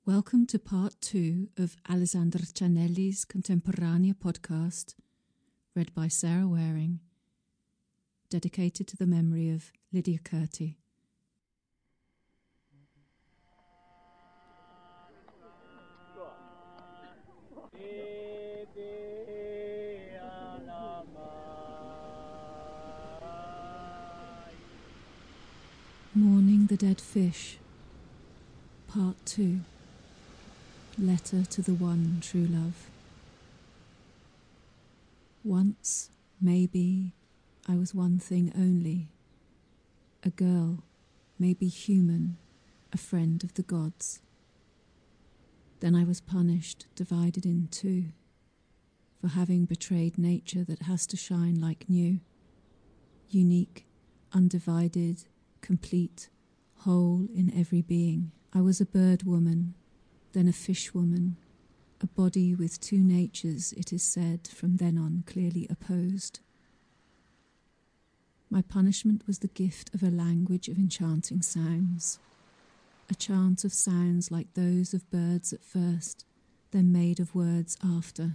Welcome to part 2 of Alessandra Cianelli's Contemporanea podcast, read by Sarah Waring, dedicated to the memory of Lydia Curti. Mourning the Dead Fish, Part 2. Letter to the One True Love. Once, maybe, I was one thing only. A girl, maybe human, a friend of the gods. Then I was punished, divided in two, for having betrayed nature that has to shine like new, unique, undivided, complete, whole in every being. I was a bird woman, then a fish woman, a body with two natures, it is said, from then on clearly opposed. My punishment was the gift of a language of enchanting sounds, a chant of sounds like those of birds at first, then made of words after.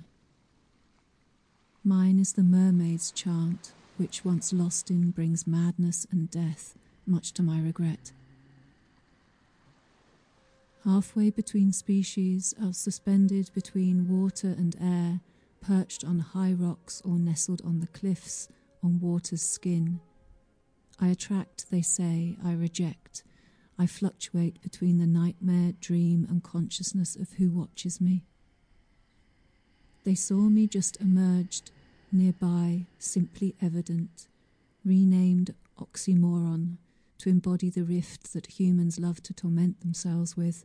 Mine is the mermaid's chant, which once lost in brings madness and death, much to my regret. Halfway between species, I was suspended between water and air, perched on high rocks or nestled on the cliffs, on water's skin. I attract, they say, I reject. I fluctuate between the nightmare, dream, and consciousness of who watches me. They saw me just emerged, nearby, simply evident, renamed oxymoron, to embody the rift that humans love to torment themselves with.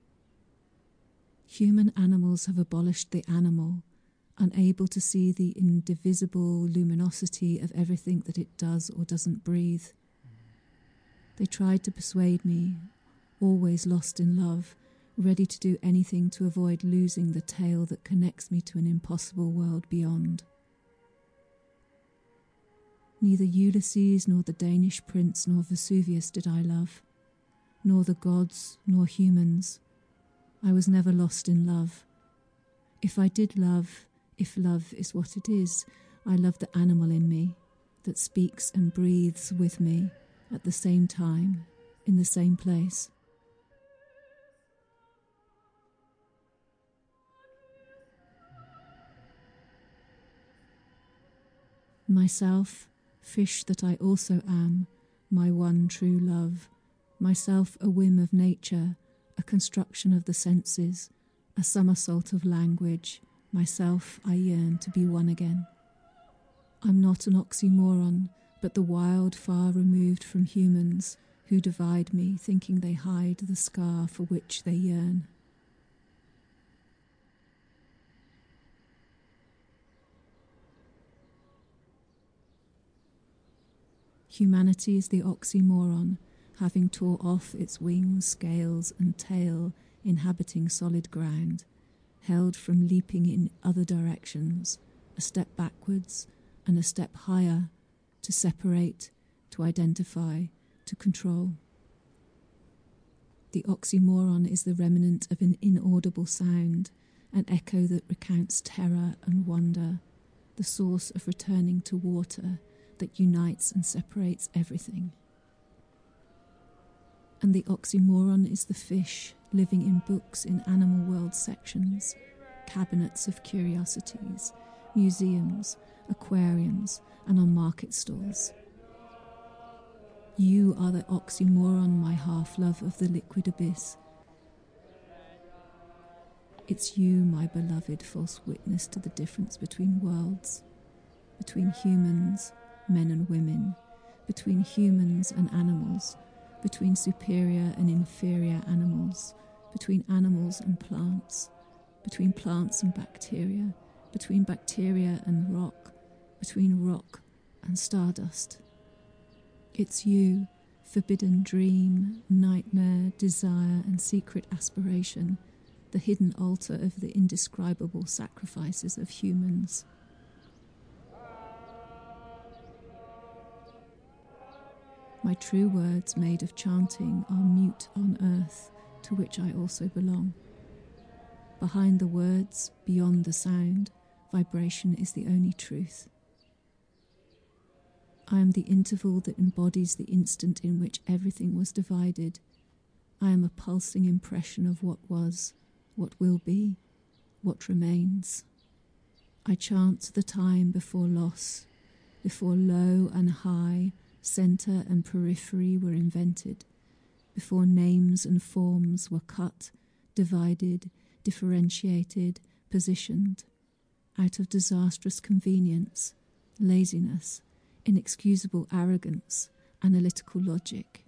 Human animals have abolished the animal, unable to see the indivisible luminosity of everything that it does or doesn't breathe. They tried to persuade me, always lost in love, ready to do anything to avoid losing the tail that connects me to an impossible world beyond. Neither Ulysses nor the Danish prince nor Vesuvius did I love, nor the gods nor humans. I was never lost in love. If I did love, if love is what it is, I love the animal in me that speaks and breathes with me at the same time, in the same place. Myself, fish that I also am, my one true love, myself a whim of nature, a construction of the senses, a somersault of language, myself I yearn to be one again. I'm not an oxymoron, but the wild far removed from humans who divide me, thinking they hide the scar for which they yearn. Humanity is the oxymoron, having tore off its wings, scales, and tail, inhabiting solid ground, held from leaping in other directions, a step backwards and a step higher, to separate, to identify, to control. The oxymoron is the remnant of an inaudible sound, an echo that recounts terror and wonder, the source of returning to water that unites and separates everything. And the oxymoron is the fish living in books in animal world sections, cabinets of curiosities, museums, aquariums, and on market stalls. You are the oxymoron, my half-love of the liquid abyss. It's you, my beloved, false witness to the difference between worlds, between humans, men and women, between humans and animals, between superior and inferior animals, between animals and plants, between plants and bacteria, between bacteria and rock, between rock and stardust. It's you, forbidden dream, nightmare, desire, and secret aspiration, the hidden altar of the indescribable sacrifices of humans. My true words made of chanting are mute on earth, to which I also belong. Behind the words, beyond the sound, vibration is the only truth. I am the interval that embodies the instant in which everything was divided. I am a pulsing impression of what was, what will be, what remains. I chant the time before loss, before low and high, centre and periphery were invented, before names and forms were cut, divided, differentiated, positioned, out of disastrous convenience, laziness, inexcusable arrogance, analytical logic.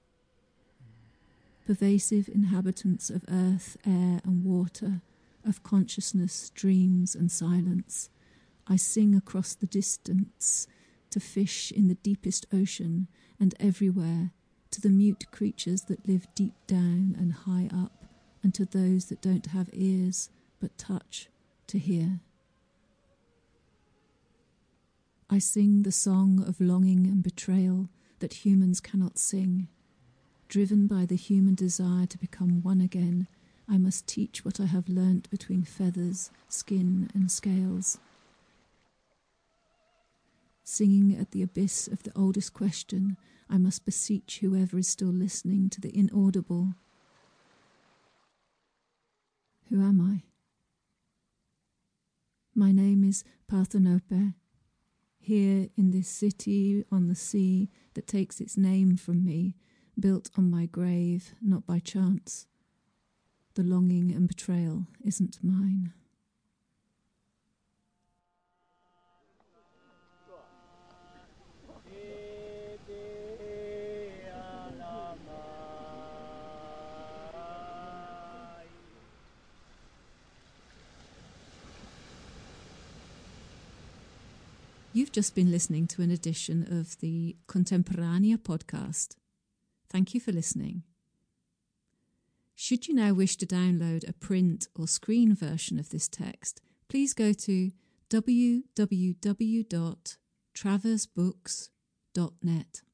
Pervasive inhabitants of earth, air and water, of consciousness, dreams and silence, I sing across the distance, to fish in the deepest ocean and everywhere, to the mute creatures that live deep down and high up, and to those that don't have ears but touch to hear. I sing the song of longing and betrayal that humans cannot sing. Driven by the human desire to become one again, I must teach what I have learnt between feathers, skin and scales. Singing at the abyss of the oldest question, I must beseech whoever is still listening to the inaudible. Who am I? My name is Parthenope. Here in this city on the sea that takes its name from me, built on my grave, not by chance. The longing and betrayal isn't mine. You've just been listening to an edition of the Contemporanea podcast. Thank you for listening. Should you now wish to download a print or screen version of this text, please go to www.traversbooks.net.